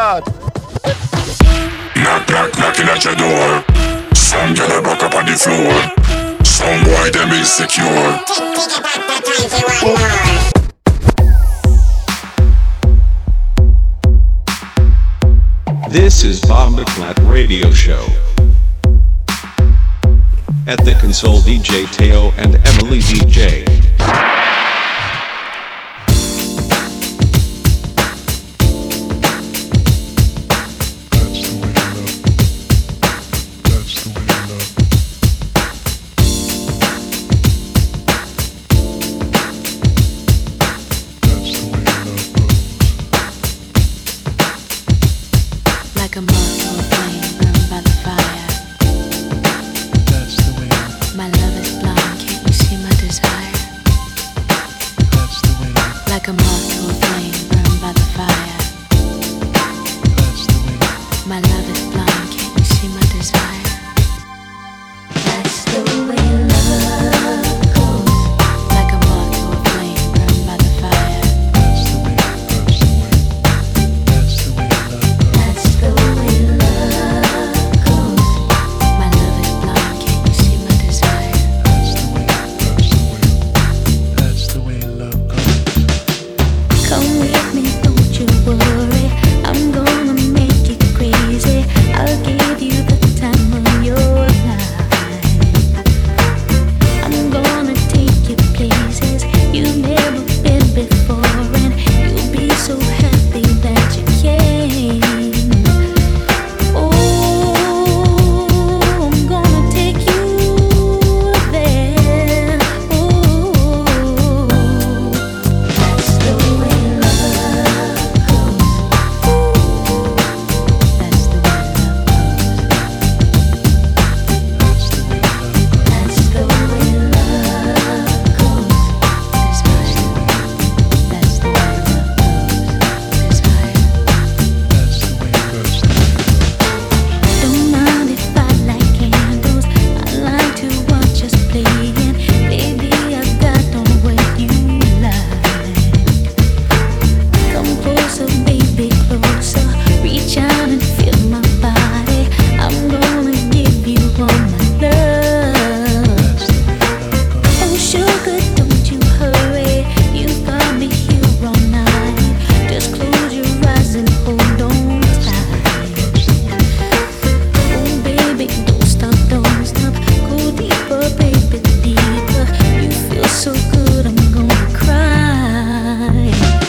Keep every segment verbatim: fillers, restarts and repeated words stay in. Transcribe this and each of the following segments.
God. Knock, knock, knocking at your door. Some girl a back up on the floor. Some boy them insecure. This is Bob McClat Radio Show. At the console, D J Teo and Emily D J. Like a moth to a flame burned by the fire. That's the way. My love is blind, can't you see my desire? That's the way. Like a moth to a flame burned by the fire. That's the way. My love is blind, can't you see my desire? That's the way love goes. Like a moth to a flame burned by the fire. That's the way. That's the way. That's the way love goes. That's the way love goes. My love is blind, can't you see my desire? That's the way, that's the way, that's the way love goes. Come with me, don't you worry. I'm gonna make you crazy. I'll give you the time of your life. I'm gonna take you places you've never been before, and you'll be so happy that you came. Oh, I'm gonna take you there. Oh, that's the way love goes. That's the way love goes. That's the way love goes. Desire. That's the way love goes. Desire. That's the way love goes. Don't mind if I light candles. I like to watch us playing. Baby, I've got on what you like. Come closer, baby, closer. Reach out and feel my body. I'm gonna give you all my love. Oh, sugar, don't you hurry. You've got me here all night. Just close your eyes and hold on tight. Oh, baby, don't stop, don't stop. Go deeper, baby, deeper. You feel so good, I'm gonna cry.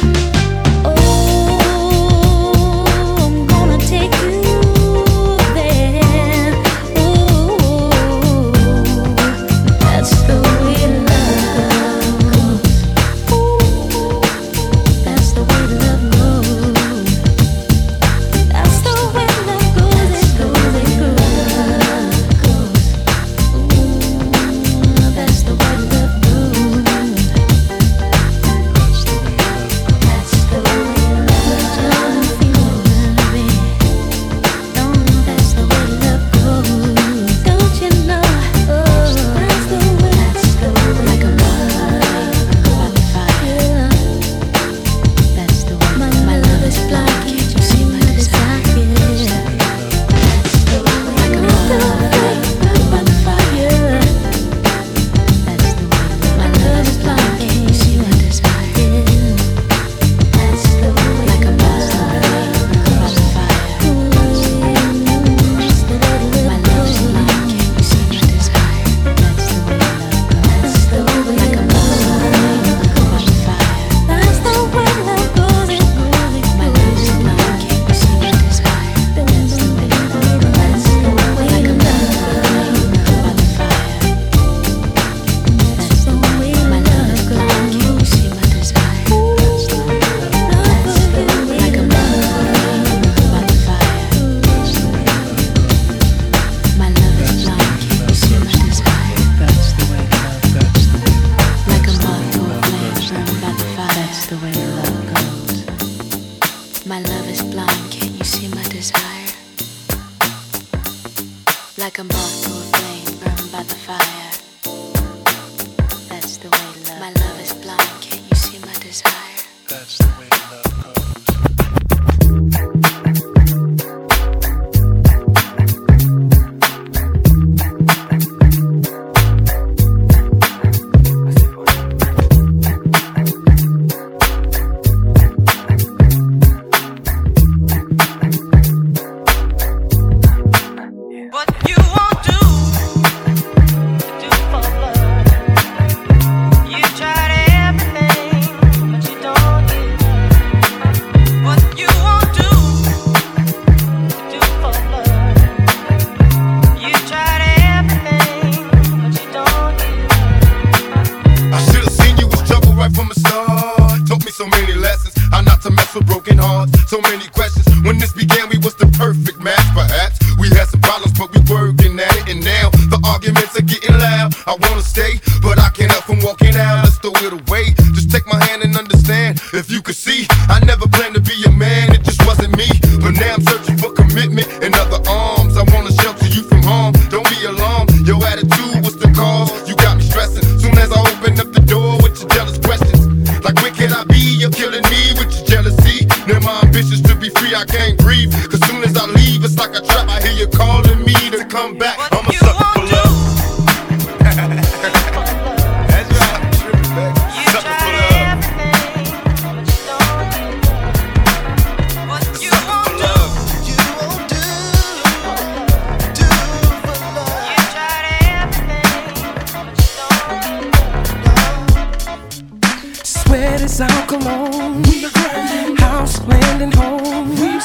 Oh, I'm gonna take you there. Oh, that's the way love goes. That's the way love goes. That's the way love goes. It goes, it goes. Ooh, that's the way love goes. That's the way love goes. Don't feel worried. Don't, that's the way love goes. Don't you know? Oh, that's the way. That's the way. Like a moth by the fire. That's the way. My, my love is blind, can't you see my desire? That's the way. Like a moth by the fire. That's the way. My love is blind, can't you see my desire? That's the way. Like a moth by the fire. That's the way. My love is blind, can't you see my desire? That's the way love goes. That's the way. Like a moth by the fire. That's the way love goes. It goes, it goes. My love is blind, can't you see my desire? That's the way love goes. That's the way. Like a moth by the fire. That's the way. My love is blind, can't you see my desire? That's the way. That's the way. Like a moth by the fire. My love is blind, can't you see my desire? That's the way love, that's the way. Like a moth to a flame burned by the fire. That's the way love goes. My love is blind, can't you see my desire? Like a moth to a flame burned by the fire. That's the way love. My love is blind, can't you see my desire? That's the way love goes. in other arms. I wanna shelter you from harm. Don't be alarmed. Your attitude was the cause. You got me stressing. Soon as I open up the door with your jealous questions, like where can I be? You're killing me with your jealousy. Now my ambitions to be free, I can't breathe. Cause soon as I leave, it's like a trap. I hear you calling me to come back. I'm a sucker for love. That's right. Sucker for love. It's our cologne. We house, land, and home. We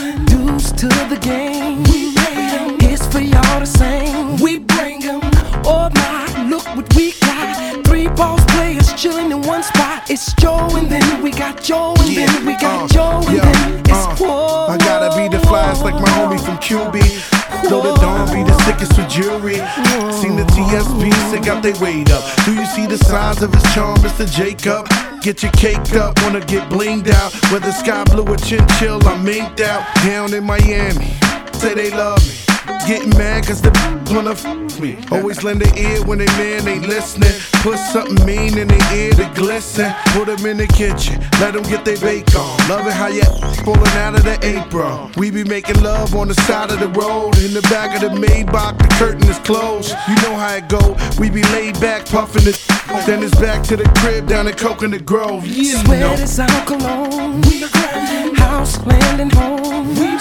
dues to the game. We it's for y'all to sing. We bring 'em. Oh my, look what we got. Three boss players chilling in one spot. It's Joe and then we got Joe and yeah, then we got uh, Joe and yeah, then it's uh, whoa. I gotta be the flyest like my homie from Q B. Though the dawn be the sickest with jewelry. Seen the T S B's, they got their weight up. Do you see the signs of his charm, Mister Jacob? Get your caked up, wanna get blinged out. Whether sky blue or chinchill, I'm minked out. Down in Miami, say they love me. Getting mad cause the wanna f me. Always lend an ear when they man ain't listening. Put something mean in their ear to glisten. Put them in the kitchen, let them get their bake on. Love it how you pulling out of the apron. We be making love on the side of the road. In the back of the Maybach, the curtain is closed. You know how it go, we be laid back puffing it. Then it's back to the crib down in Coconut Grove. You Sweat know. is our cologne. We house, land, and home. We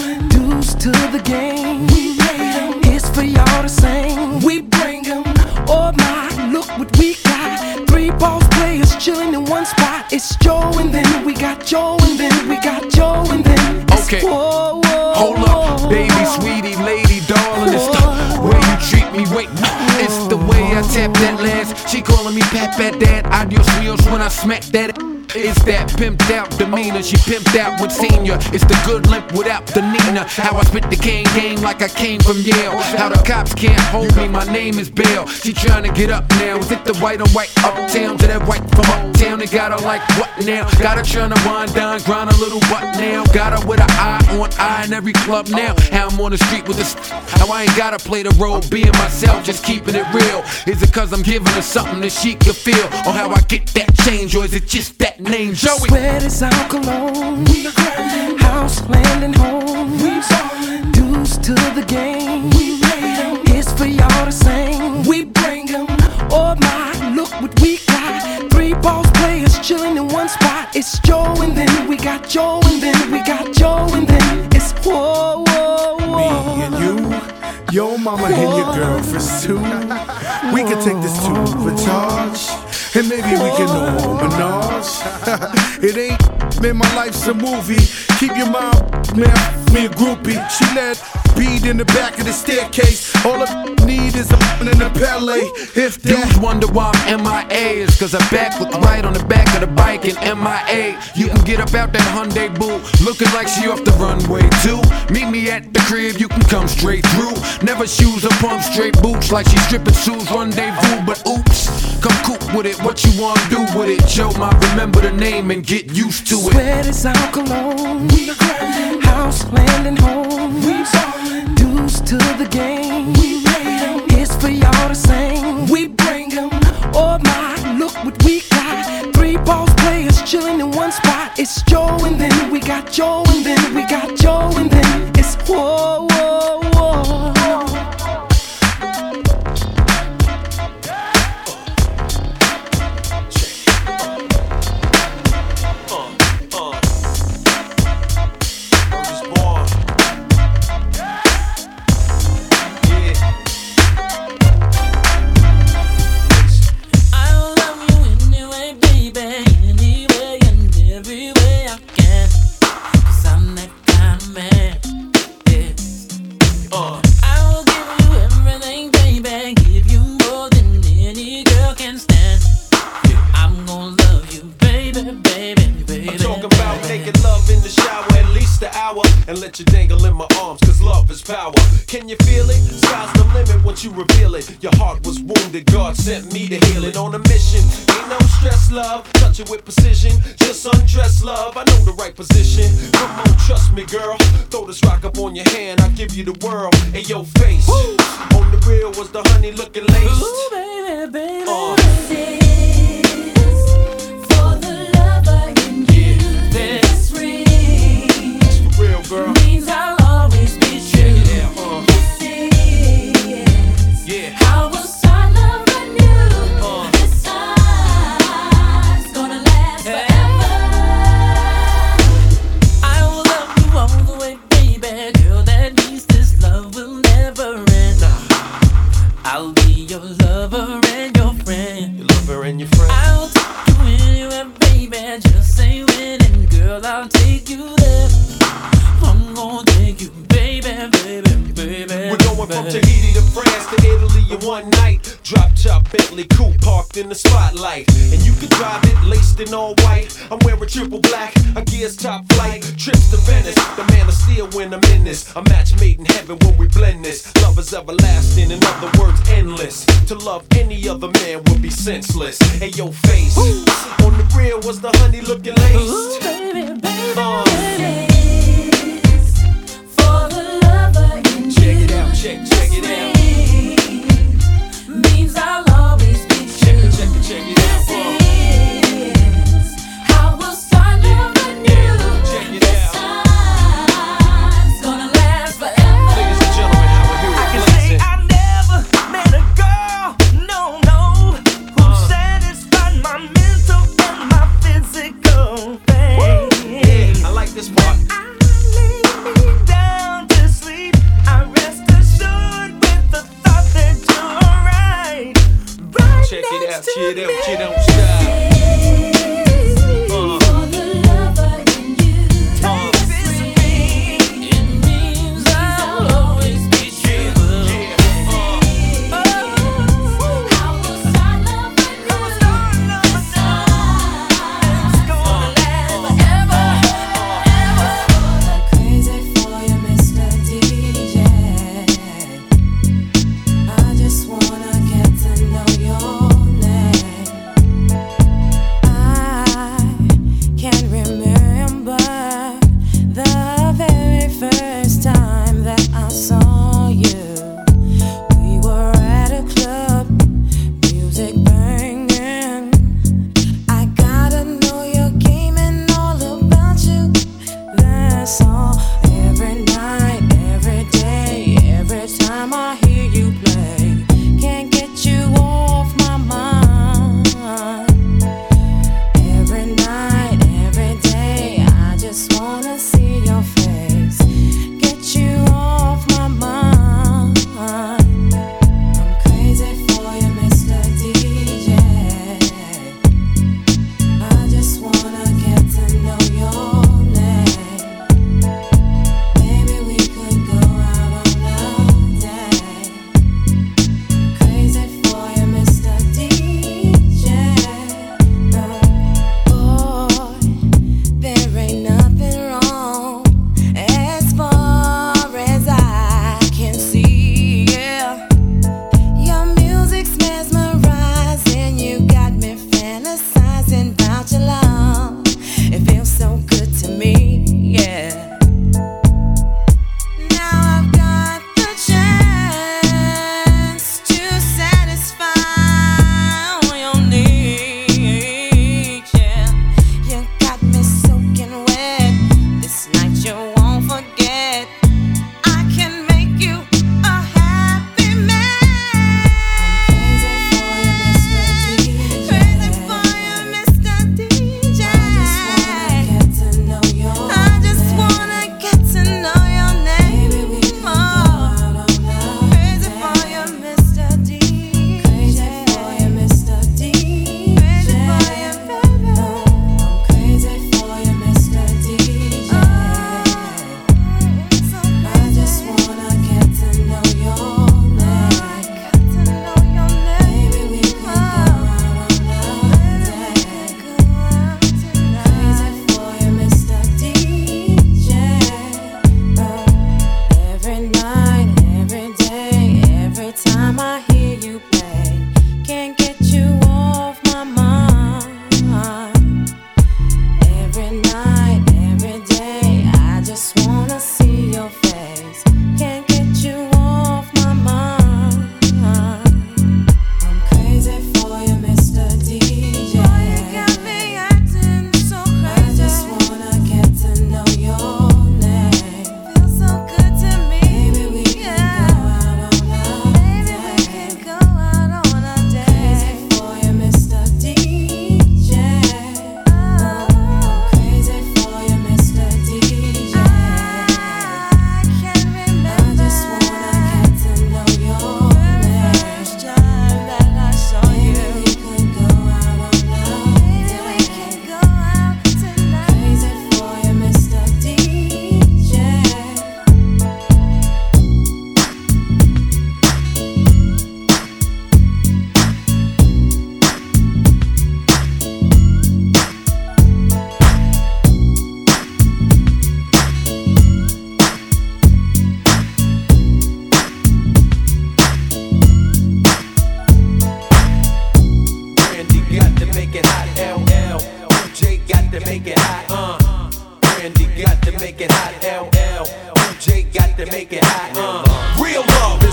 dues to the game. We it's for y'all to sing. We bring 'em. Oh my, look what we got. Three boss players chilling in one spot. It's Joe and then we got Joe and then we got Joe and then it's okay. Whoa, whoa, Hold up, baby, sweetie, lady, darling. It's the way you treat me. Wait, it's the way I tap that last. She calling me Pat Pat Dad. Adios wheels when I smack that. It's that pimped out demeanor. She pimped out with senior. It's the good limp without the Nina. How I spit the cane game like I came from Yale. How the cops can't hold me, my name is Bill. She trying to get up now. Is it the white on white uptown to that white from uptown? They got her like what now? Got her trying to wind down, grind a little butt now. Got her with an eye on eye in every club now. How I'm on the street with this. How I ain't gotta play the role being myself, just keeping it real. Is it cause I'm giving her something that she can feel? Or how I get that change? Or is it just that name Joey? Sweat is our cologne. We house, land, and home. We dues to the game. We it's for y'all to sing. We bring 'em. Oh my, look what we got. Three boss players chilling in one spot. It's Joe and then we got Joe and then we got Joe and then it's whoa, whoa, whoa. Me and you, your mama and your girl for two. We can take this to Vitage. And maybe we can know menage. It ain't, man, my life's a movie. Keep your mom, man, me a groupie. She let bead in the back of the staircase. All I need is a in the palais. If that Dudes wonder why I'm M I A. It's cause I back look right on the back of the bike in M I A. You can get up out that Hyundai boo, looking like she off the runway too. Meet me at the crib, you can come straight through. Never shoes or pump, straight boots like she stripping shoes rendezvous. But oops, come coop with it, what you wanna do with it? Joe might remember the name and get used to it. Sweat is our cologne. We house, land, and home. We dues to the game. We it's for y'all to sing. We bring 'em. Oh my, look what we got. Three boss players chilling in one spot. It's Joe and then we got Joe and then we got Joe and then it's whoa, whoa, whoa. Can you feel it? Sky's the limit once you reveal it. Your heart was wounded, God sent me to heal it. On a mission, ain't no stress, love. Touch it with precision, just undress, love. I know the right position. Come on, trust me, girl. Throw this rock up on your hand, I'll give you the world. And your face, woo! On the real was the honey looking laced. Ooh, baby, baby. Uh. For the lover in you, this ring. It's for real, girl. Means I'll always be true. Yeah, uh. This is Yeah. how we'll start love anew. Uh. This time's gonna last forever. I will love you all the way, baby. Girl, that means this love will never end. I'll be your lover and your friend. Your lover and your friend. I'll take you anywhere, baby. Just say when, and girl, I'll take you there. I'm gonna take you, baby, baby, baby. We're going from Tahiti to France to Italy in one night. Drop top Bentley coupe parked in the spotlight, and you can drive it laced in all white. I'm wearing triple black, a gear's top flight. Trips to Venice, the man of steel when I'm in this. A match made in heaven when we blend this. Love is everlasting, in other words, endless. To love any other man would be senseless. Hey, your face, ooh, on the real was the honey looking laced. Ooh, baby, baby, Uh. baby. For the lover in Check you, it out, check, check it out. ring means I'll always be Check true. it, check it, check it out. Uh. This is how we'll start love anew. Check it This out. time's gonna last forever. Ladies and gentlemen, how we I hear can it say blazing. I never met a girl, no, no, who Uh. satisfied my mental and my physical thing. Yeah, I like this part. I lay me down to sleep. I rest assured with the thought that you're right. Right Check it out, next to check it out, me. check it out, stop. Uh. For the lover in you, Uh. this ring It means I'll always be true. Yeah, uh. how we'll start love anew. This time's gonna last forever. Crazy for you, Mister D J. I just wanna get to know your name.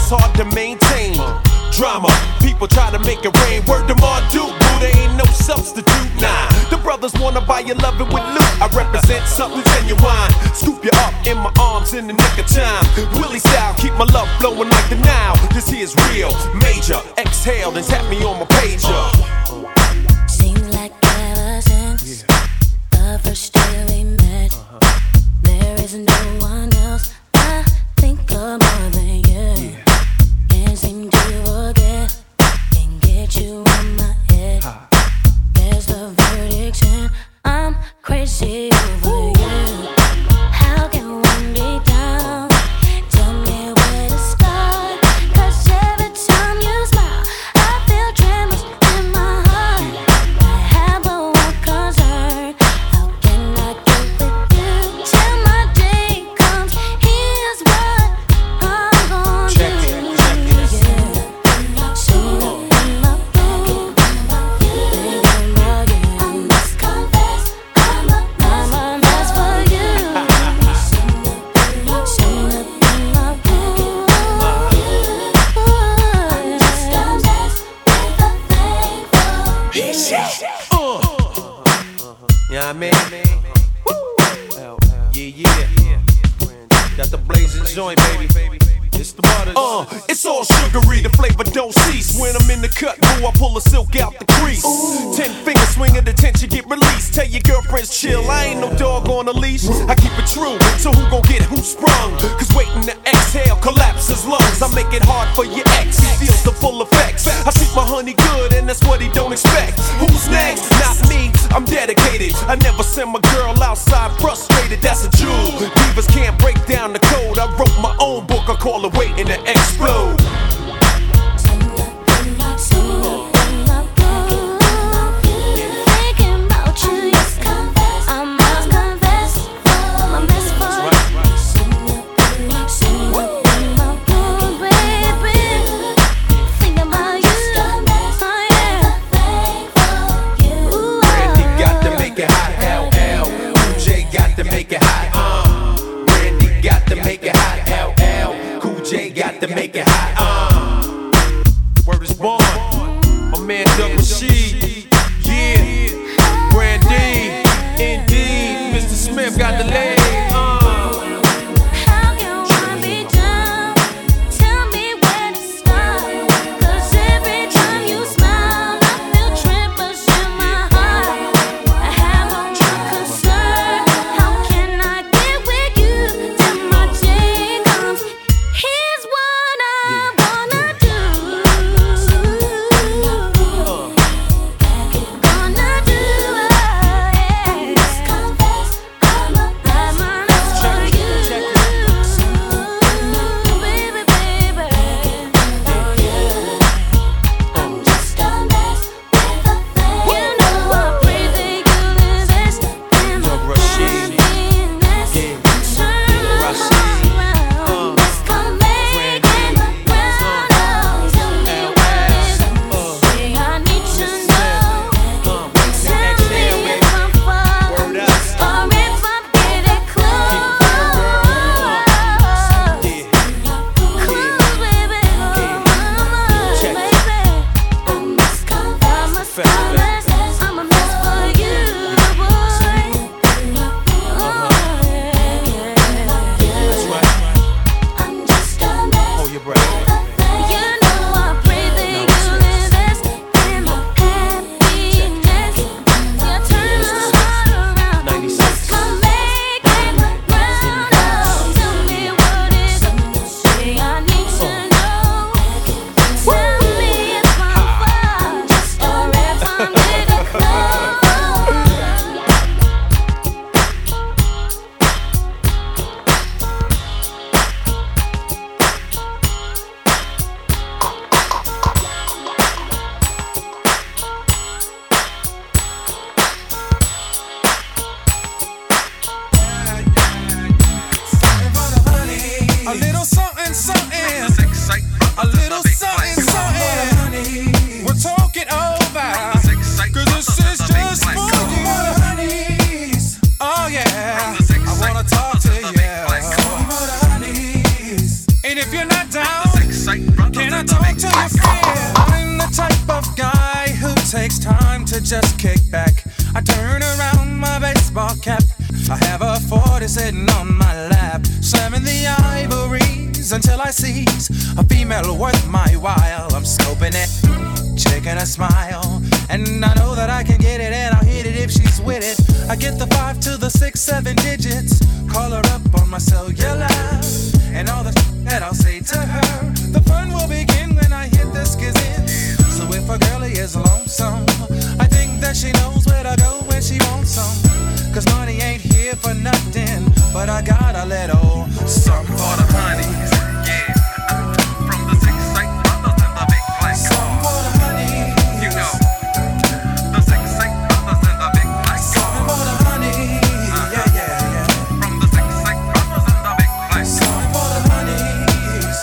it's hard to maintain. Drama, people try to make it rain. Word to Marduk, boo, there ain't no substitute. Nah, the brothers wanna buy you loving with loot. I represent something genuine. Scoop you up in my arms in the nick of time. Willie style, keep my love flowing like the Nile. This here's real, major. Exhale, then tap me on my pager. Seems like ever since the first day we met, there is no one else I think of more than you. Can't seem to forget, can't get you on my head. There's the verdict and I'm crazy over you. How can one be down? Tell me where to start. 'Cause every time you smile, I feel tremors in my heart. I have but one concern. How can I get with you till my day comes? Here's what I'm gonna Check do. it, check it. Yeah. Soon in my room, thinking about you. I must confess, I'm a I'm a mess for you. Soon in my room, I'm just a mess with a thing for you. Yeah, I mean, yeah, yeah. Got the blazing joint, baby. It's the butter. Uh, it's all sugary, the flavor don't cease. When I'm in the cut, boo, I pull the silk out the crease. Ten fingers swing at the tension, get released. Tell your girlfriends chill, I ain't no dog on a leash. I keep it true, so who gon' get who sprung? Cause waiting to exhale collapses lungs. I make it hard for your ex, he feels the full effects. I treat my honey good, and that's what he don't expect. Who's next? Not me, I'm dedicated. I never send my girl outside frustrated, that's a jewel. Divas can't break down the code. I wrote my own book, I call it Waiting to Explode. Thinking about you, yes, confess. I must confess, I'm a mess for you. Soon in my room, baby. Thinking about you, oh yeah. Ooh, Randy got to make it hot, L L. Cool J got to make it hot, uh. Randy got to make it hot, L L. Cool J got to make it hot, uh. Word is born, my man Doug Rashid, yeah. Brandy, indeed, Mister Smith got the leg, uh. how can one be down? Tell me where to start. 'Cause every time you smile, I feel tremors in my heart. I have one concern. How can I get with you till my day comes? Here's what I'm gonna do. Gonna do, yeah. Confess, I'm a I'm a mess for you, baby, baby. Oh yeah, I'm just a mess with a thing. You know I pray that you invest in my Doug Rashid, happiness. Turn Rashid, around, let's come make it round. Oh, tell me what is it? Say I need to know. Tell me if I'm far Word up. or if I'm getting close. Close, baby, oh mama, Check. baby. I must confess, I must confess, I'm a mess for you, boy. Oh yeah, yeah, That's yeah. right. I'm just a mess. Hold your breath. You know I pray that you invest in my happiness. You turn my heart around. ninety-six. Come make it round. Oh, tell me what is it? Say I need to know. Tell me if I'm far or if I'm getting close. A little something, something. A little something, something. We're talking over. 'Cause this is just for you. Oh yeah. I wanna talk to you. And if you're not down, Can I talk to you fair? I'm the type of guy who takes time to just kick back. I turn around my baseball cap. I have a forty sitting on my lap, slamming the ivories until I seize a female worth my while. I'm scoping it, checking a smile, and I know that I can get it and I'll hit it if she's with it. I get the five to the six, seven digits, call her up on my cellular, and all the that I'll say to her. The fun will begin when I hit the skizzin'. So if a girlie is lonesome, I think that she knows where to go when she wants some. Cause money ain't here for nothing, but I got a little something for the honeys. Yeah, from the six eight brothers in the big black car. Something for the honeys. You know, the six eight brothers in the big black car. Something for the honeys. Uh-huh. Yeah, yeah, yeah. From the six eight brothers in the big black car. Something for the honeys.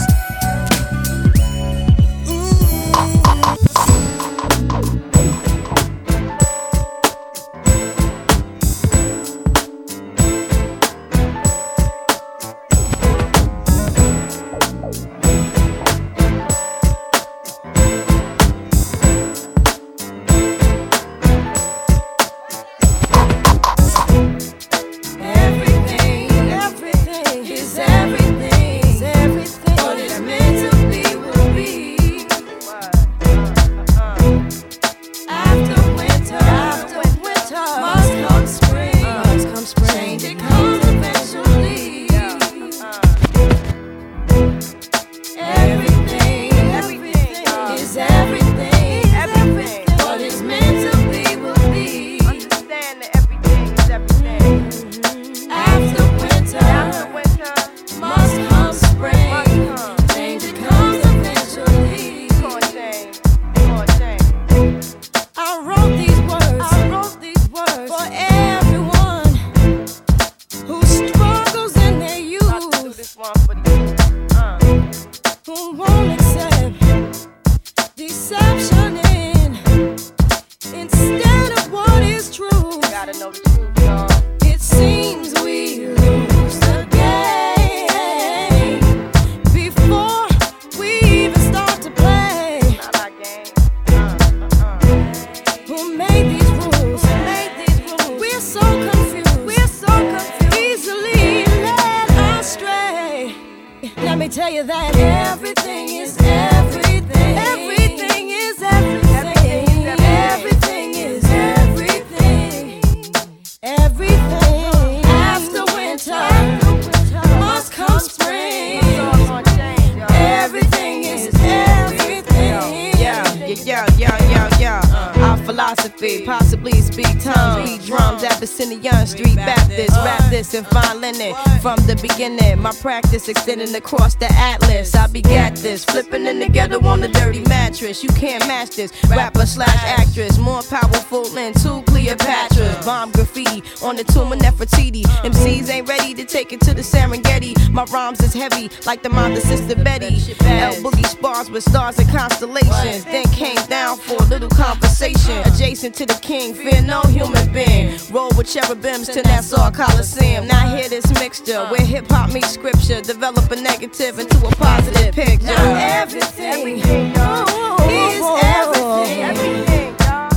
And fine linen from the beginning. My practice extending across the atlas. I begat this, flipping in together on the dirty mattress. You can't match this. Rapper slash actress, more powerful than two Cleopatras. Bomb graffiti on the tomb of Nefertiti. M Cs ain't ready to take it to the Serengeti. My rhymes is heavy like the mind of Sister Betty. L Boogie spars with stars and constellations. Then came down for a little conversation. Adjacent to the king, fear no human being. Roll with cherubims to Nassau Coliseum. Now hear this mixture where hip hop meets scripture. Develop a negative into a positive picture. Now everything, everything oh, is everything. Everything, dog.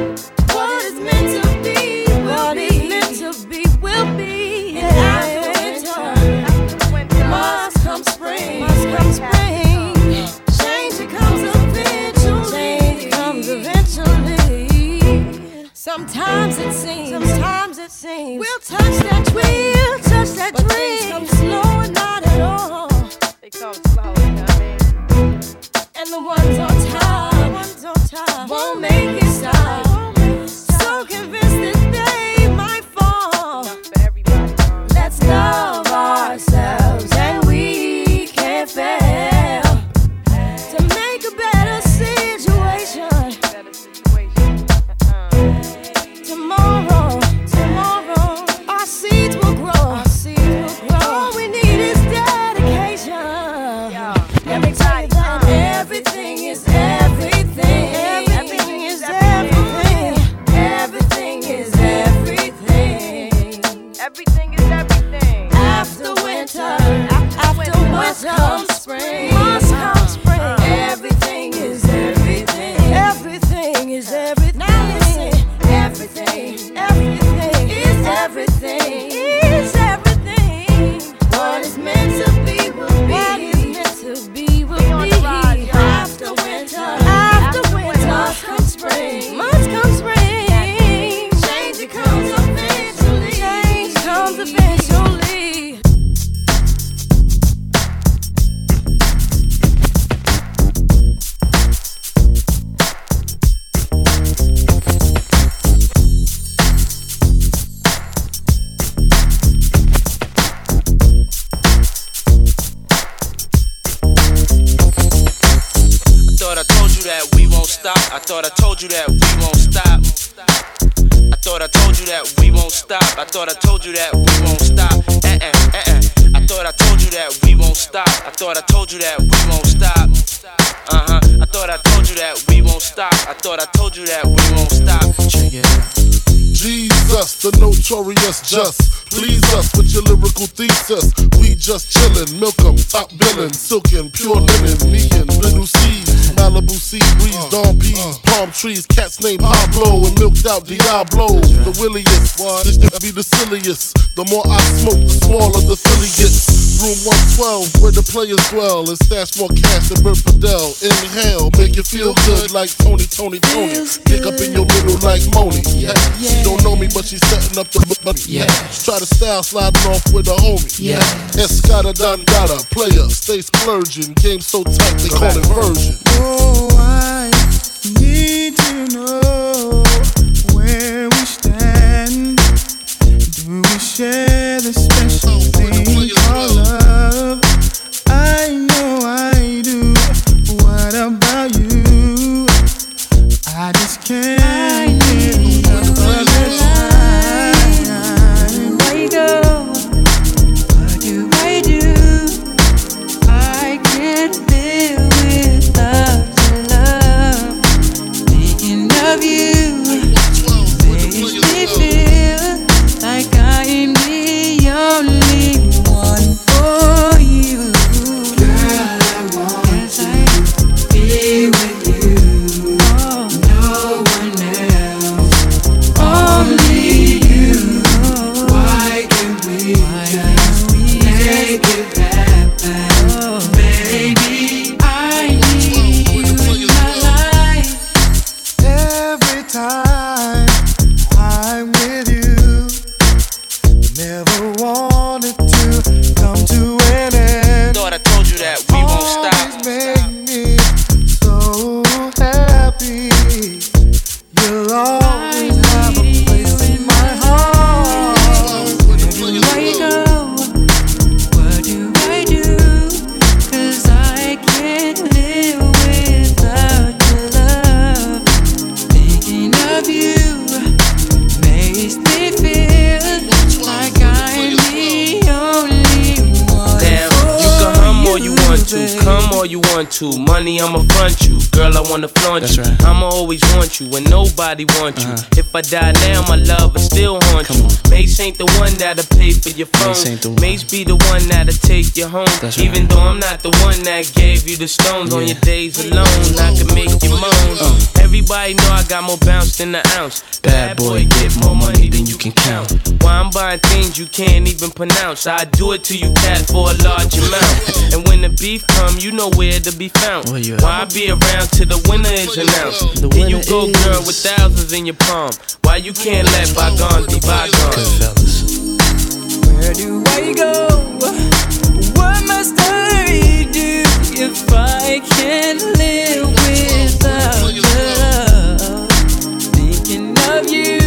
What is meant to be, what is meant to be, will be. And after winter, must come spring. Must come spring. Change it comes eventually. Change it comes eventually. Sometimes it seems. Sometimes it seems. We'll touch that tree. We'll touch that but tree. Things come slow and not at all. They come slow, you know what I mean? And the ones on top, the ones on top won't make it stop. So convinced that they might fall. Let's love ourselves and we can't fail to make a better situation. Tomorrow, tomorrow, our seeds will grow. that we won't stop. I thought I told you that we won't stop. I thought I told you that we won't stop. I thought I told you that we won't stop. Eh eh eh eh. I thought I told you that we won't stop. I thought I told you that we won't stop. Uh huh. I thought I told you that we won't stop. I thought I told you that we won't stop. Check it out. Jesus, the notorious just. Please us with your lyrical thesis. We just chillin', milk 'em, top billin', silkin', pure linen, me and little C's, Malibu sea breeze, dawn peas, palm trees, cats named Pablo and milked out Diablo. The williest, this to be the silliest. The more I smoke, the smaller the silly gets. Room one twelve, where the players dwell, and stash more cash than Bert Fidel. Inhale, make you feel good like Tony, Tony, Tony. Pick up in your middle like Moni. Yeah. She don't know me, but she's setting up the money. Yeah. Try to style sliding off with a homie. Yeah. Escada Dangada, player, stay splurging. Game so tight they call it version. Oh, I need to know where we stand. Do we share the special thing called love? I know I do. What about you? I just can't get enough of this time. Where you go? What do I do? I can't live without your love. Thinking of you makes me feel like I am the only one for you. Girl, I want to be with you. Oh. No one else, only you. Why can't we just make it happen? Oh. Baby, I need you in my life. Every time I'm with you, never wanted to come to an end. Thought I told you that we won't stop. Always make me so happy. You'll always have a place in my heart. Where you go? What do I do? 'Cause I can't live without your love. Thinking of you makes me feel like I'm the only one. Damn, you can hum all you want to, come all you want to. Money, I'ma front you. Girl, I wanna flaunt That's you. right. I'ma always want you when nobody wants you. Uh-huh. If I die now, my love will still haunt Come you. on. Mace ain't the one that'll pay for your phone. Mace ain't the one. Mace be the one that'll take you home. That's Even right. though I'm not the one that gave you the stones on Yeah. your days alone, I can make you moan. Uh. Everybody know I got more bounce than the ounce. Bad boy, get more money than you can count. Why I'm buying things you can't even pronounce. I do it to you, cat, for a large amount. And when the beef come, you know where to be found. Where you at? Why I be around till the winner is announced? The Here you winner go, is- girl, with thousands in your palm. Why you can't let bygones be bygones? Good fellas. Where do I go? What must I do if I can't live without your love? Thinking of you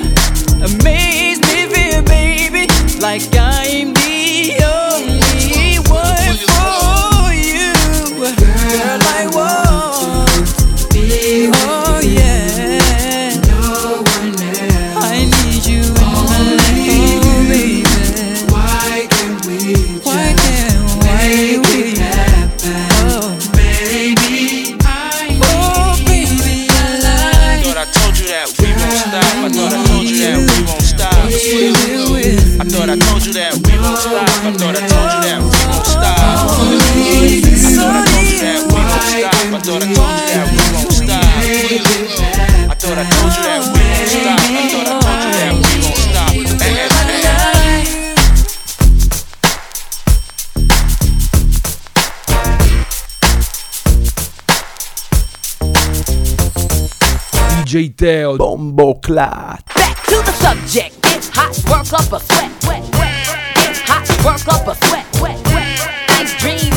amazes me, feel, baby, like I'm the only one for you. Girl, I want to be with oh, yeah. No one else. I need you in my life, oh, baby. Why can't we Why can't make it happen? Oh, baby, I oh, baby, I like Thought I told you that we won't stop. I thought I told you that we won't stop. I thought I told you that we won't stop. I thought I told you that we won't stop. I thought I told you that we won't stop. I thought I told you that we won't stop. I thought I told you that we won't stop. I thought I told you that we won't stop. Eh, eh, eh. D J Teo, Bombo Clat. Back to the subject. Get hot, work up a sweat, wet, wet. Get hot, work up a sweat, wet, wet. Nice dream.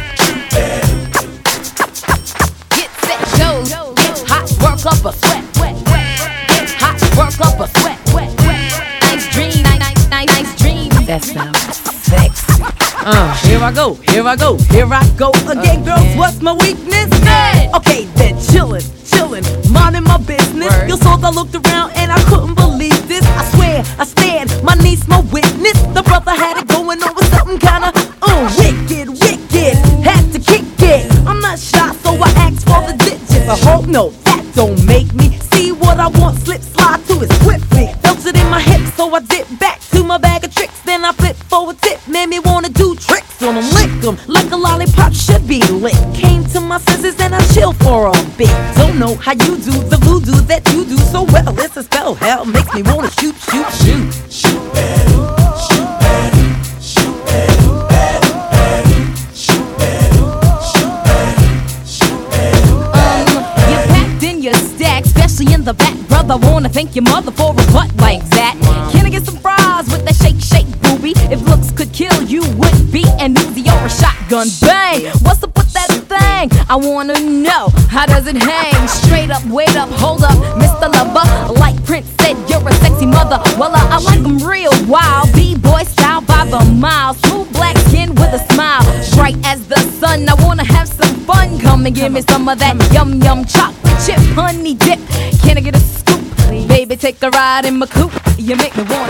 Get set, go. Get hot, work up a sweat, wet, wet. Get hot, work up a sweat, wet, wet. Nice dream, nice, nice, nice, nice dream. That sounds sexy. Uh, here I go, here I go, here I go again, girls. What's my weakness? Okay, then. chillin', chillin', minding my business. Word. Yo, so I looked around and I couldn't believe this. I swear, I stared, my niece, my witness. The brother had it going on with something kinda uh, wicked, wicked. Had to kick it. I'm not shy, so I asked for the digits. I hope no, that don't make me see what I want. Slip, slide to it swiftly. Felt it in my hips, so I dip back to my bag of tricks. Then I flip for a tip, made me wanna do tricks on them, lick them like a lollipop should be lit. Came to my senses and I chill for a bit. Don't know how you do the voodoo that you do so well. It's a spell, hell makes me wanna shoot, shoot, shoot. Shoot better, shoot better, shoot better, better, better, shoot better, shoot better, shoot better. Um, you packed in your stack, especially in the back, brother. Wanna thank your mother for a butt like that. Can I get some fries with that shake, shake, booby? If looks could kill, you would be an Uzi or a shotgun. Bang! What's up with that thing? I wanna know, how does it hang? Straight up, wait up, hold up, Mister Lover. Like Prince said, you're a sexy mother. Well, uh, I like them real wild. B-boy style by the mile. Smooth black skin with a smile. Bright as the sun, I wanna have some fun. Come and give me some of that yum yum chocolate chip honey dip. Can I get a scoop? Baby, take a ride in my coupe. You make me wanna.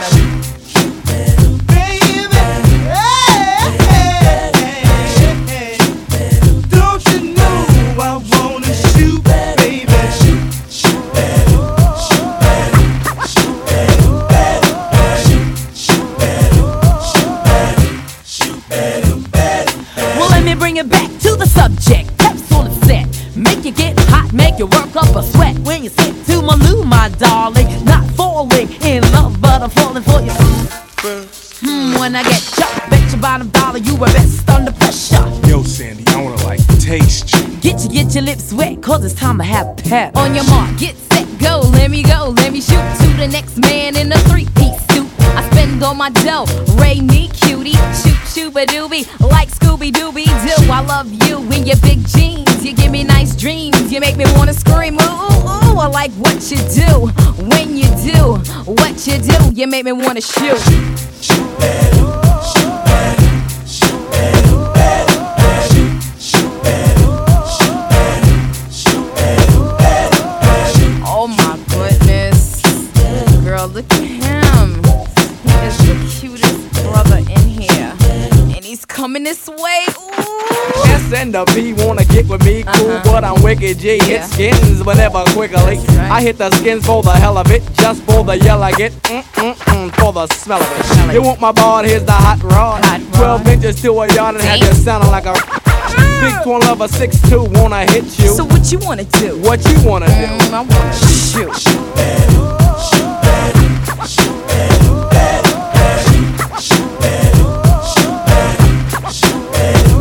Bring it back to the subject. Capsule is set. Make you get hot, make you work up a sweat. When you sit to my loo, my darling. Not falling in love, but I'm falling for you. Hmm, when I get chopped, bet your bottom dollar you were best under pressure. Yo, Sandy, I wanna like taste you. Get you, get your lips wet, cause it's time to have pep. On your mark, get set, go. Let me go, let me shoot to the next man in a three-piece suit. I spend all my dough, Ray me cutie. Shoot, shoot-a-doobie, like Scooby-Dooby-Doo. I love you in your big jeans. You give me nice dreams. You make me wanna scream, ooh, ooh, ooh. I like what you do. When you do what you do, you make me wanna shoot. Shoot better, shoot better, shoot better, better, better, shoot better, shoot better, shoot better, better, better. Oh my goodness. Girl, look at him. He is the cutest brother in here. And he's coming this way. Ooh. S and the B wanna get with me, cool, uh-huh. But I'm wicked G. Yeah. Hit skins, but never quickly. Right. I hit the skins for the hell of it, just for the yell I get, mm-mm-mm, for the smell of it. Smell you it. Want my ball, here's the hot rod. Hot twelve inches to a yard and have you sounding like a big twin lover, six two, wanna hit you. So what you wanna do? What you wanna mm, do? I wanna shoot. Shoot better, shoot better, shoot better, better, better, shoot better, shoot better, shoot better.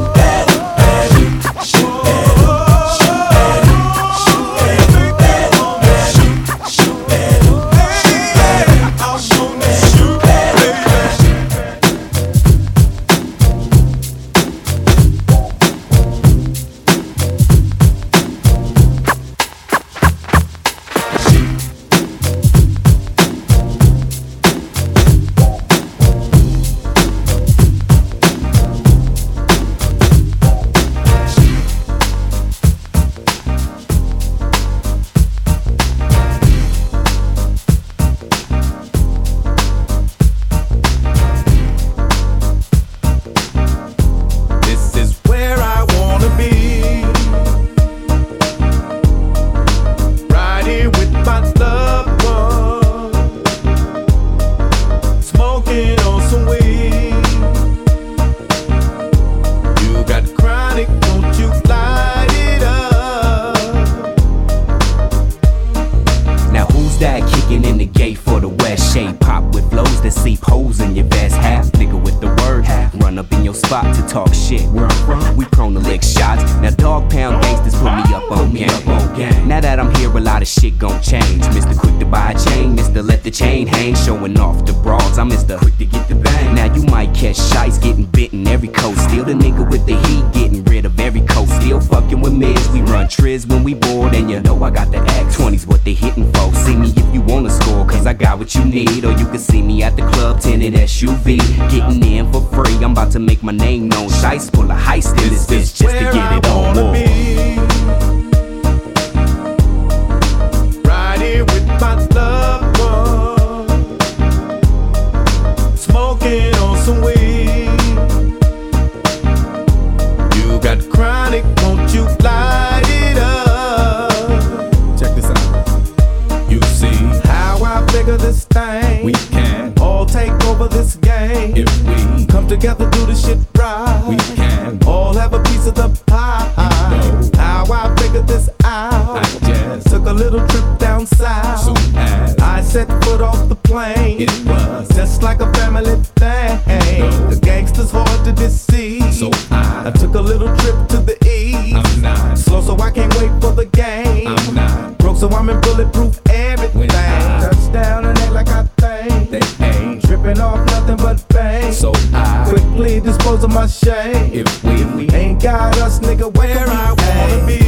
you light it up? Check this out. You see how I figure this thing. We can all take over this game if we come together, do the shit right. We can all have a piece of the pie. You know how I figured this out. I just took a little trip down south. Soon as I set foot off the plane, it was just like a family thing. The gangsters hard to deceive, so I, I took a little trip to the east. I'm not slow, so I can't wait for the game. I'm not broke, so I'm in bulletproof everything. Touchdown and act like I think they ain't tripping off nothing but bang. So I quickly dispose of my shame. If we, if we ain't got us, nigga, where I wanna be.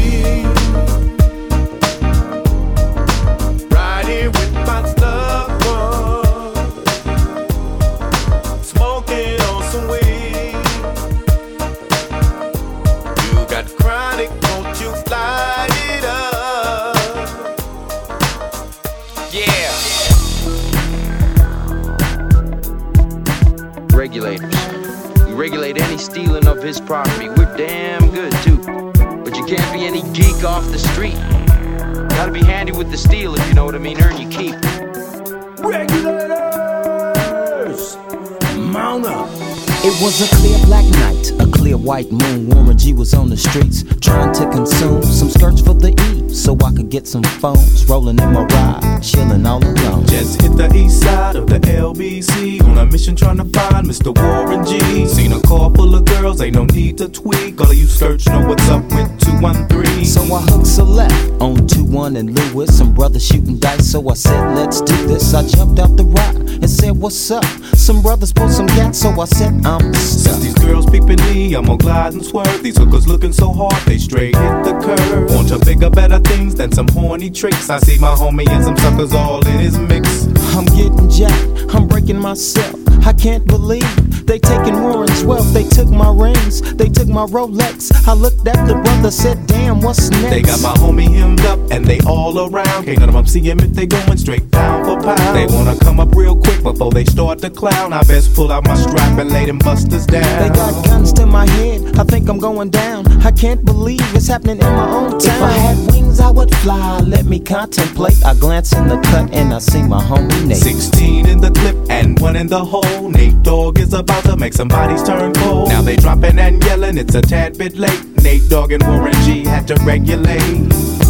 Riding with my loved one, smoking on some weed. You got chronic, won't you light it up? Yeah. Regulators. We regulate any stealing of his property. We're damn good too. But you can't be any geek off the street. Gotta be handy with the steel, if you know what I mean. Earn your keep. Regulators, mount up. It was a clear black night, a clear white moon. Warren G was on the streets trying to consume some skirts for the E, so I could get some phones. Rolling in my ride, chilling all alone. Just hit the east side of the L B C on a mission trying to find Mister Warren G. Seen a car full of girls, ain't no need to tweak. All of you skirts know what's up with two one three. So I hooked select on two one and Lewis. Some brothers shooting dice, so I said, let's do this. I jumped out the ride and said, what's up? Some brothers pulled some gas, so I said, I'm stuck. Since these girls peeping me, I'm gonna glide and swerve. These hookers looking so hard, they straight hit the curve. Want to bigger, better things than some horny tricks. I see my homie and some suckers all in his mix. I'm getting jacked, I'm breaking myself. I can't believe they taking Warren's wealth. They took my rings, they took my Rolex. I looked at the brother, said, damn, what's next? They got my homie hemmed up and they all around. Can't none of them see him if they going straight down for pound. They wanna come up real quick before they start to clown. I best pull out my strap and lay them busters down. They got guns to my head, I think I'm going down. I can't believe it's happening in my own town. If I had wings, I would fly, let me contemplate. I glance in the cut and I see my homie Nate. Sixteen in the clip and one in the hole. Nate Dogg is about to make some bodies turn cold. Now they dropping and yelling, it's a tad bit late. Nate Dogg and Warren G had to regulate.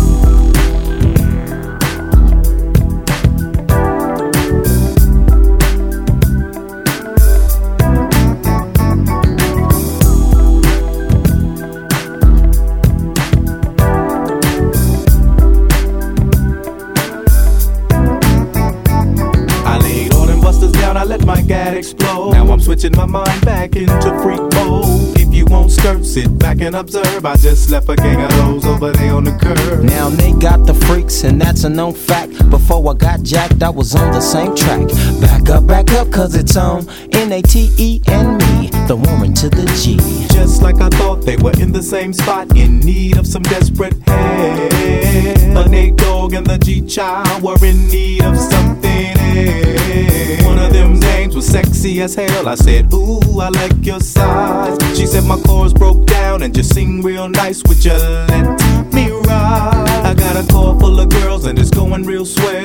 My gat explode. Now I'm switching my mind back into freak mode. If you won't skirt, sit back and observe. I just left a gang of those over there on the curb. Now they got the freaks and that's a known fact. Before I got jacked, I was on the same track. Back up, back up, cause it's on N A T E and me, the Warren to the G. Just like I thought, they were in the same spot, in need of some desperate help. But Nate Dogg and the G-Child were in need of something else. One of them dames was sexy as hell. I said, ooh, I like your size. She said my chords broke down and just sing real nice. Would you let me ride? I got a car full of girls and it's going real swell.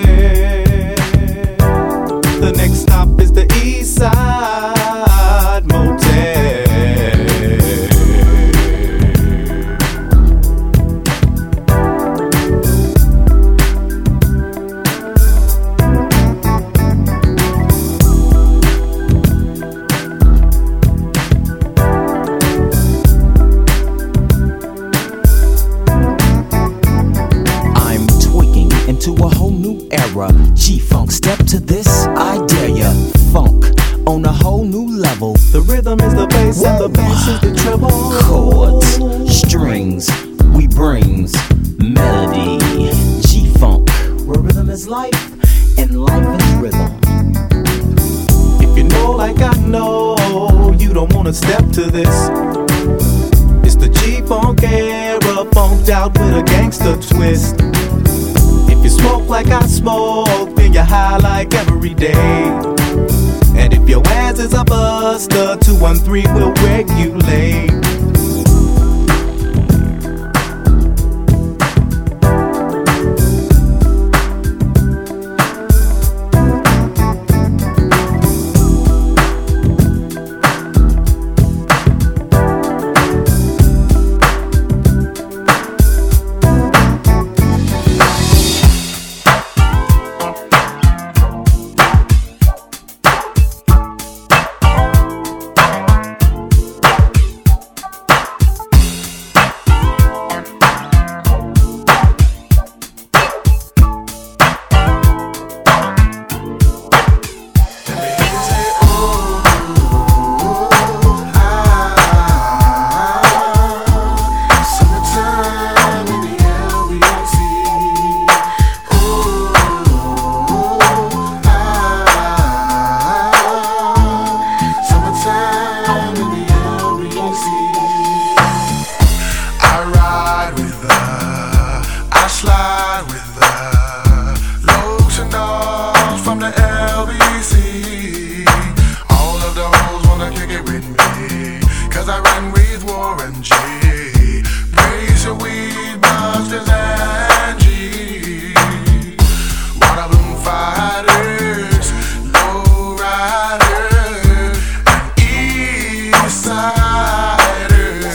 The next stop is the East Side Motel. To a whole new era, G-Funk, step to this, I dare ya. Funk on a whole new level. The rhythm is the bass and the bass is the treble. Chords, strings, we brings melody. G-Funk, where rhythm is life and life is rhythm. If you know like I know, you don't wanna step to this. It's the G-Funk era, funked out with a gangster twist. If you smoke like I smoke, then you're high like every day. And if your ass is a buster, two one three will regulate. slide with the lotion dogs from the L B C. All of the hoes wanna kick it with me, cause I run with Warren G. Raise your weed, Busters and G. Water Bloom Fighters, Low Riders, and East Siders.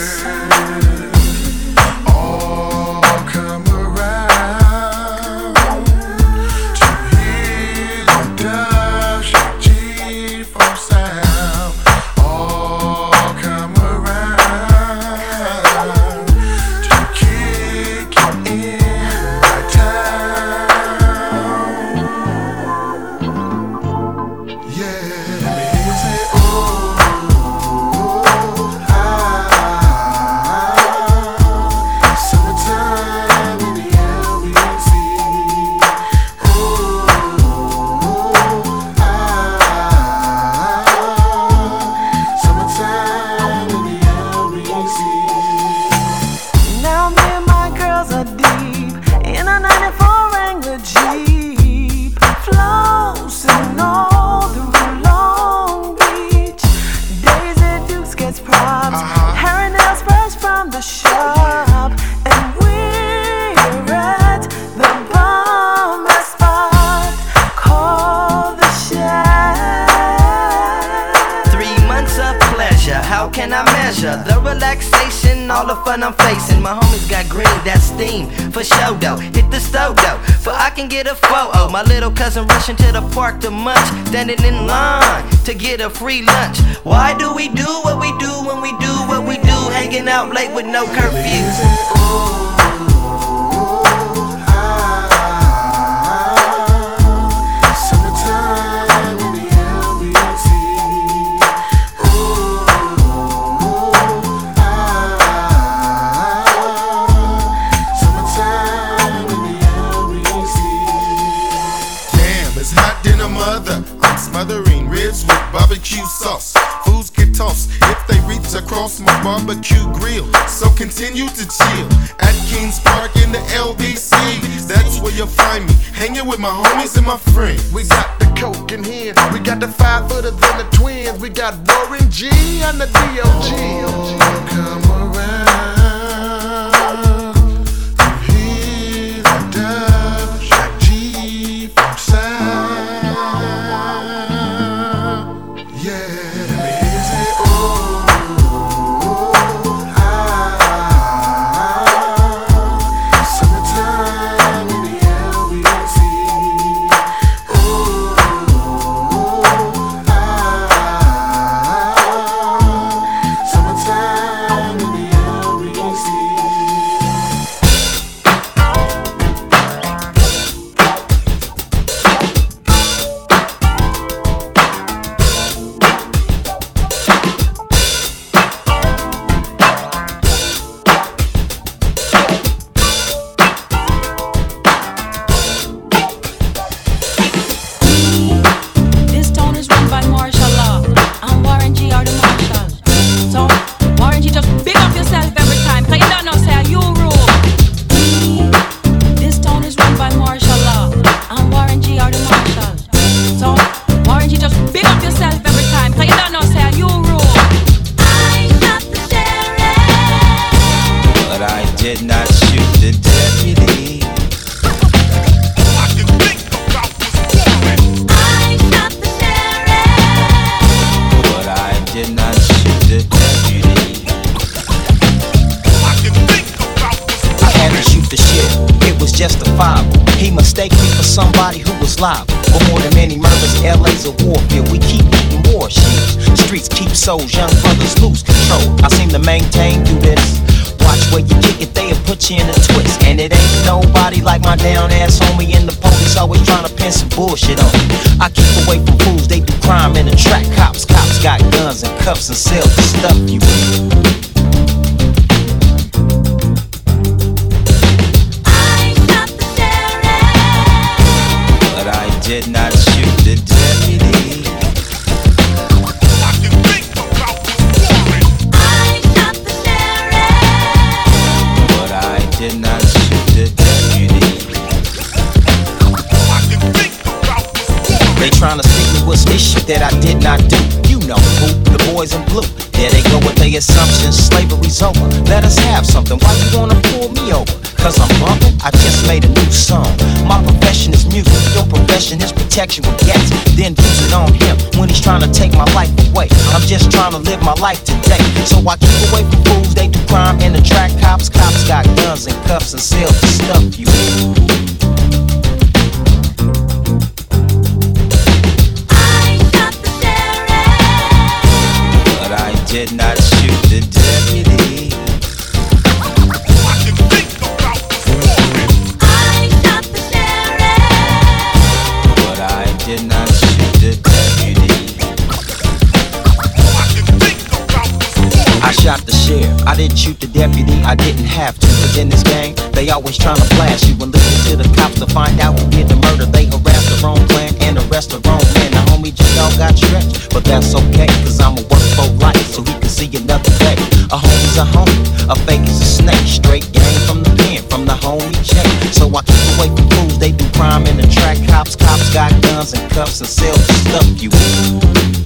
All come around to hear the Dub Shack G from sound. All come around to kick it in my town. Yeah, let me hear you say, oh, ah, summertime in the L B C. Oh, ah, summertime in the L B C. Now me and my girls are deep in a ninety-four Wrangler Jeep, flossing all through Long Beach. Daisy Dukes gets props, hair and nails fresh from the shop, and we're at the bomb spot called the Shack. Three months of pleasure, how can I measure the relaxation, all the fun I'm facing? My homies got green, that's steam, for show though. Hit the stove though, for I can get a photo. My little cousin rushing to the park to munch, standing in line to get a free lunch. Why do we do what we do when we do what we do? Hanging out late with no curfew. Summertime in the L B C. Oh, ah, summertime in the L B C. Damn, it's hot than a mother. I'm smothering ribs with barbecue sauce. Foods get tossed if they reach across my barbecue grill. So continue to chill at Kings Park in the L B C. That's where you'll find me, hanging with my homies and my friends. We got the coke in here, we got the five footers and the twins, we got Warren G and the D O G. Come around to hear the Dub Shack G from sound. Yeah, let me hear you say, oh, ah, summertime in the L B C. Oh, ah, summertime in the L B C. This town is run by martial law. And Warren G are the marshal. So, Warren G, just big up yourself every time. Cause you don't know, say, you rule. This town is run by martial law. And Warren G are the marshal. So, Warren G, just big up yourself every time. Cause you don't know, say, you rule. But I did not shoot the deputy. But I did not shoot the deputy. I had to shoot the shit, it was justifiable. He mistaken me for somebody who was liable. For more than many murders, L A's a warfield. We keep eating war shields. Streets keep souls, young brothers lose control. I seem to maintain through this. Watch where you kick it, they'll put you in a twist. And it ain't nobody like my down ass homie. And the police always trying to pin some bullshit on me. I keep away from fools, they do crime in the track. Cops, cops got guns and cuffs and sell the stuff you with. Did not shoot the deputy. I can think about this warrant. I shot the sheriff, but I did not shoot the deputy. that I did not do. You know who, the boys in blue. There they go with their assumptions, slavery's over. Let us have something, why you wanna pull me over? Cause I'm bumping, I just made a new song. My profession is music, your profession is protection with gas. Then use it on him when he's trying to take my life away. I'm just trying to live my life today. So I keep away from fools, they do crime and attract cops. Cops got guns and cuffs and sell the stuff you hear. Did not shoot the deputy. I can think about I shot the sheriff, but I did not shoot the deputy. I can think about I shot the sheriff, I didn't shoot the deputy. I didn't have to, cause in this gang they always trying to blast you and listen to the cops to find out who did the murder. They harassed the wrong clan and arrest the wrong man. The homie G-Dog got stretched, but that's okay, cause I'ma work for life so he can see another day. A homie's a homie, a fake is a snake. Straight game from the pen, from the homie chain. So I keep away from fools, they do crime and attract cops. Cops got guns and cuffs and sell the stuff you eat.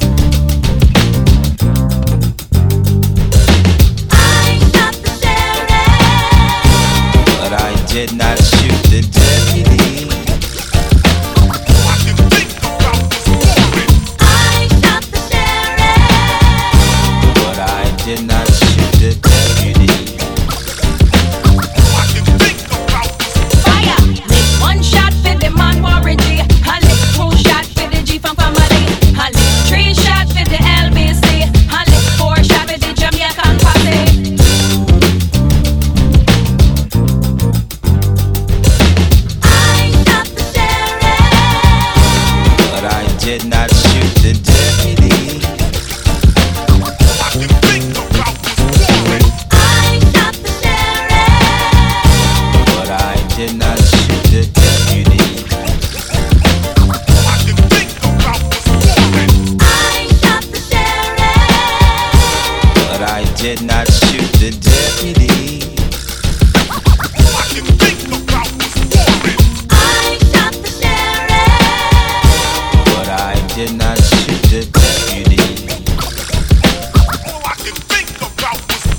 Did not shoot the deputy. I can think about I shot the sheriff, but I did not shoot the deputy. I can think about Fire! Lick one shot for the man Warren G. I lick two shot for the G from family. I lick three shot for the L B C. I lick four shot for the Jamaican posse. Did not shoot the deputy. I can think about I shot the sheriff, but I did not shoot the deputy. I can think about I shot the sheriff, but I did not shoot the deputy. I can think about I shot the sheriff, but I did not shoot the deputy. I can think about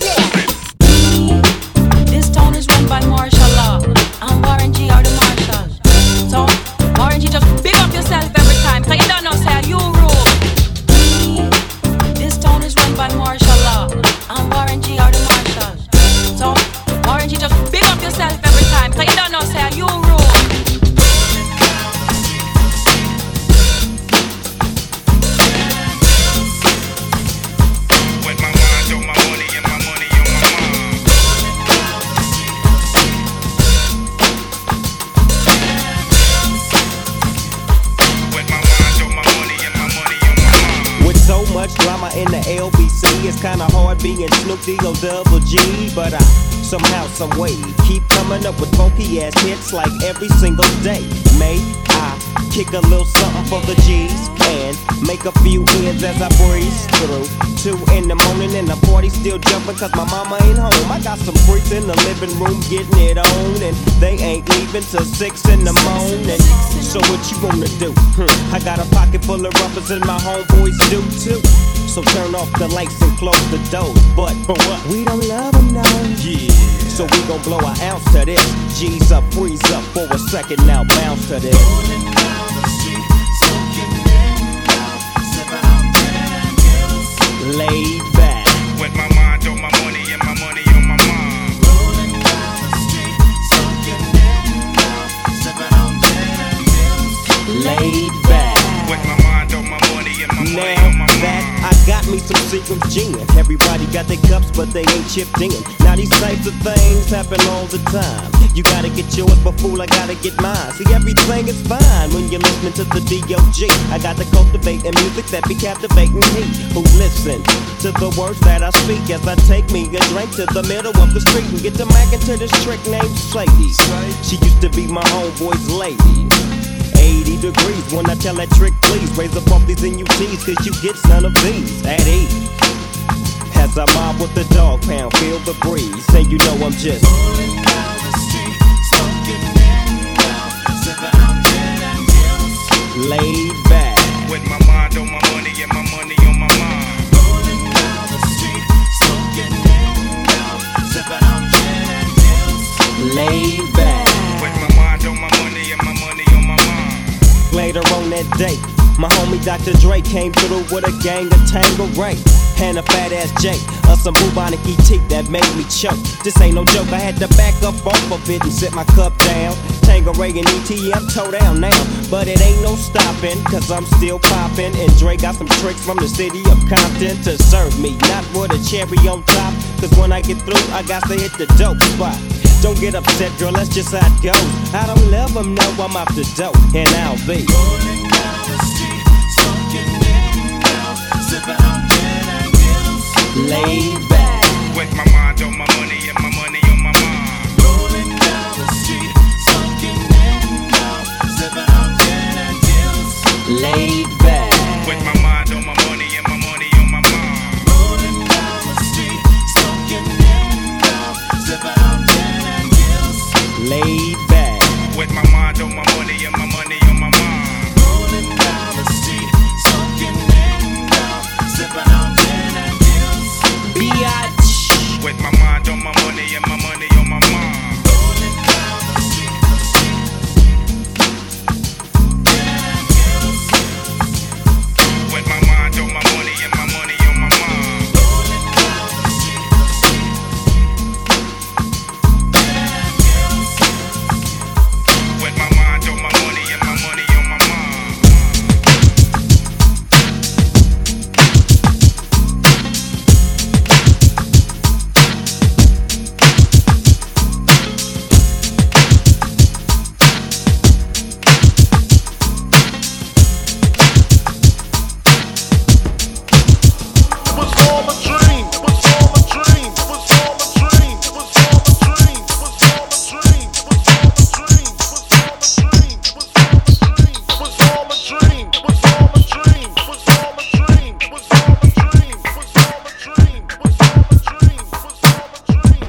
This town is run by martial law, and Warren G are the marshals. So, Warren G, just big up yourself every time, cause you don't know, say you rule. This town is run by martial law, and Warren G are the marshals. So, Warren G, just big up yourself every time, cause you don't know, say you rule. So much drama in the L B C, it's kinda hard being Snoop D-O double G. But I somehow, someway keep coming up with funky ass hits like every single day. May I kick a little something for the G's and make a few ends as I breeze through. Two in the morning and the party still jumping cause my mama ain't home. I got some freaks in the living room getting it on, and they ain't leaving till six in the morning. So what you wanna do? Hmm. I got a pocket full of rubbers and my homeboys do too. So turn off the lights and close the doors. But for what? We don't love them now. Yeah. So we gon' blow an ounce to this. G's up, freeze up for a second now, bounce to this. Laid back. With my mind on my money and my money on my mind. Rolling down the street, smoking in now, sipping on damn pills. Laid back. With my mind on my money and my money Now on my that mind. I got me some secret gin. Everybody got their cups, but they ain't chipped in. Now these types of things happen all the time. You gotta get yours, but fool, I gotta get mine. See, everything is fine when you're listening to the D O G. I got to cultivate a music that be captivating he who listen to the words that I speak as I take me a drink to the middle of the street and get to mackin' to this trick named Sadie. She used to be my homeboy's lady. eighty degrees when I tell that trick, please raise up off these N U Ts, cause you get none of these at ease. As I mob with the dog pound, feel the breeze, say you know I'm just rolling down the street, smoking in now, sipping on gin and gills. Laid back. With my mind on my money laid back. With my mind on my money and my money on my mind. Later on that day, my homie Doctor Dre came through with a gang of Tangeray and a fat ass J, or some bubonic E T that made me choke. This ain't no joke, I had to back up off of it and sit my cup down. Tangeray and E T, I'm toe down now, but it ain't no stopping, cause I'm still popping. And Dre got some tricks from the city of Compton to serve me, not with a cherry on top, cause when I get through, I got to hit the dope spot. Don't get upset, girl, that's just how it goes. I don't let them know I'm off the dope, and I'll be rolling down the street, smoking in now, sipping on gin and gills, laid back. With my mind on my money and my money on my mind. Rolling down the street, smoking in now, sipping on gin and gills, laid back. With my mind on my money and my money on my mind. Rolling down the street, smoking in now, sipping on gin and gills, laid back. With my mind on my money and my money on my mind. Rolling down the street, smoking in now, sipping on gin and gills, biatch. With my mind on my money and my money on my mind. Rolling down the street, gin and gills. With my mind on my money and my money on my mind. Rolling down the street, gin and gills. With my mind on my money and my money on my mind. It was all a dream. It was all a dream. It was all a dream. It was all a dream. It was all a dream. It was all a dream. It was all a dream. It was all a dream. It was all a dream. It was all a dream. It was all a dream. It was all a dream. It was all a dream. It was all a dream. It was all a dream.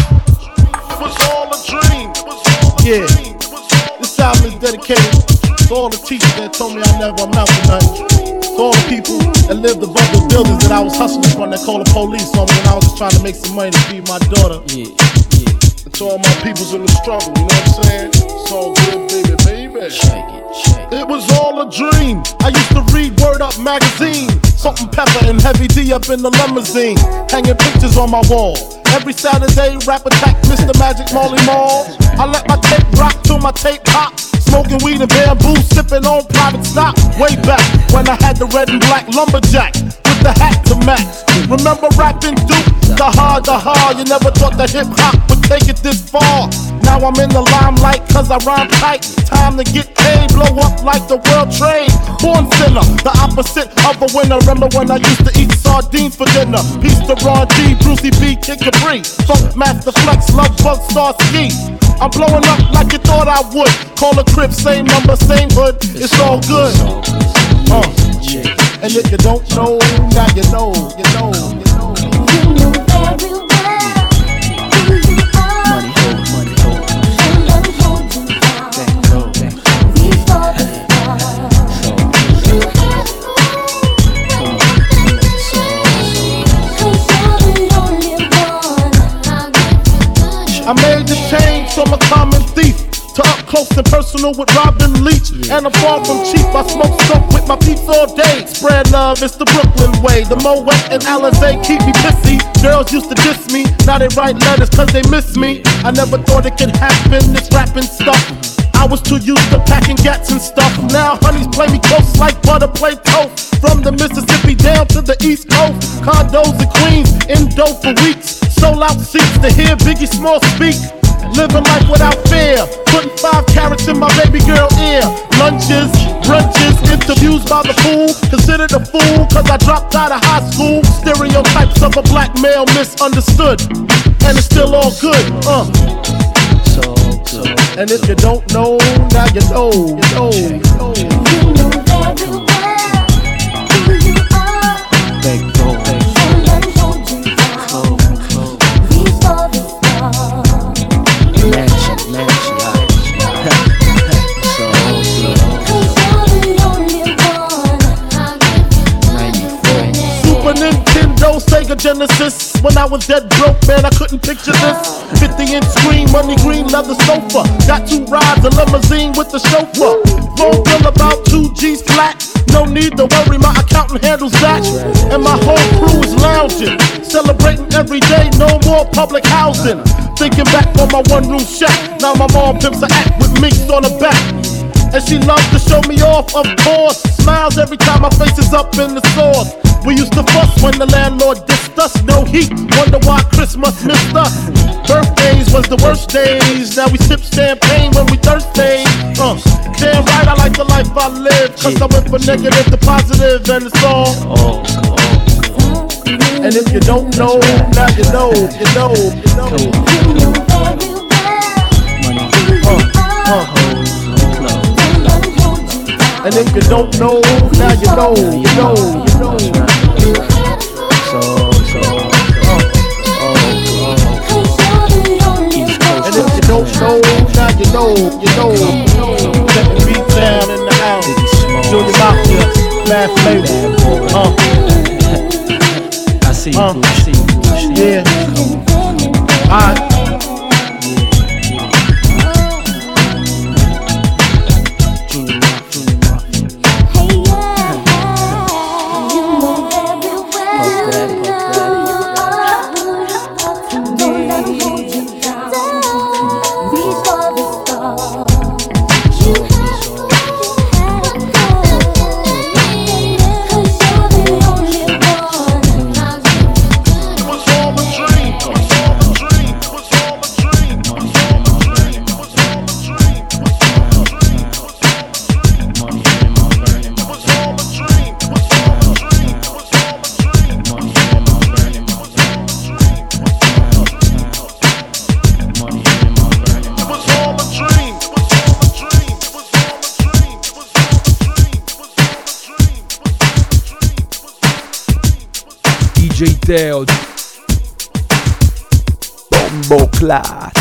It was all a dream. It was all a Yeah, dream. this album is dedicated to all the teachers that told me I never amount to nothing. To all the people that lived above the buildings that I was hustling from that called the police on me when I was just trying to make some money to feed my daughter. Yeah, yeah. And to all my peoples in the struggle, you know what I'm saying? It's all good, baby, baby. Shake it, shake it. It was all a dream. I used to read Word Up magazine. Salt and Pepper and Heavy D up in the limousine. Hanging pictures on my wall. Every Saturday, rap attack, Mister Magic Molly Mall. I let my tape rock till my tape pop. Smoking weed and bamboo, sipping on private stock. Way back when I had the red and black lumberjack with the hat to match. Remember rapping Duke? The hard, the hard. You never thought that hip hop would take it this far. Now I'm in the limelight cause I rhyme tight. Time to get paid, blow up like the world trade. Born sinner, the opposite of a winner. Remember when I used to eat sardines for dinner? Peace to Ron G, Brucey B, Kid Capri, Funk Master Flex, Love Bug Star Ski. I'm blowing up like you thought I would. Call a crib, same number, same hood. It's all good. Uh, and if you don't know, now you know, you know, you know. You know very well who you are. Money hold, money hold. And I'm holding down. Thank go, thank go. Before the stars. You have to cause you're the only one. I made the change from a common thief to up close and personal with Robin Leach. Yeah. And I'm far from cheap, I smoke soap with my peeps all day. Spread love, it's the Brooklyn way. The Moet and Alizé keep me pissy. Girls used to diss me, now they write letters cause they miss me. I never thought it could happen, this rapping stuff. I was too used to packing gats and stuff. Now honeys play me close like butter play toast. From the Mississippi down to the East Coast. Condos in Queens, in dough for weeks. Sold out seats to hear Biggie Small speak. Living life without fear, putting five carats in my baby girl ear. Lunches, brunches, interviews by the fool. Considered a fool cause I dropped out of high school. Stereotypes of a black male misunderstood. And it's still all good, uh. And if you don't know, now you know, you know, you know. You know very well who you are. They go, they go. And I'm holding down before the stars. Mansion, mansion, so cause you're the only one. ninety-four. Super Nintendo, Sega Genesis. When I was dead broke, man, I couldn't picture this. fifty inch screen, money green, leather sofa. Got two rides, a limousine with the chauffeur. Phone bill about two G's flat. No need to worry, my accountant handles that. And my whole crew is lounging, celebrating every day, no more public housing. Thinking back on my one room shack. Now my mom pimps a act with minks on her back. And she loves to show me off, of course. Smiles every time my face is up in the sauce. We used to fuss when the landlord dissed us. No heat, wonder why Christmas missed us. Birthdays was the worst days. Now we sip champagne when we thirsty. Uh, damn right, I like the life I live. Cause I went from negative to positive and it's all. Oh, oh, oh. And if you don't know, now you know, you know, you know. Uh, uh. And if you don't know, now you know, you know, you know. So, so, uh, oh, oh. And if you don't know, now you know, you know, you know. Let the beat down in the house. Junior Mafia, Mad Flavor. Uh. I see you, uh. I see you. Yeah. Alright. D J Teo Bombo Clat.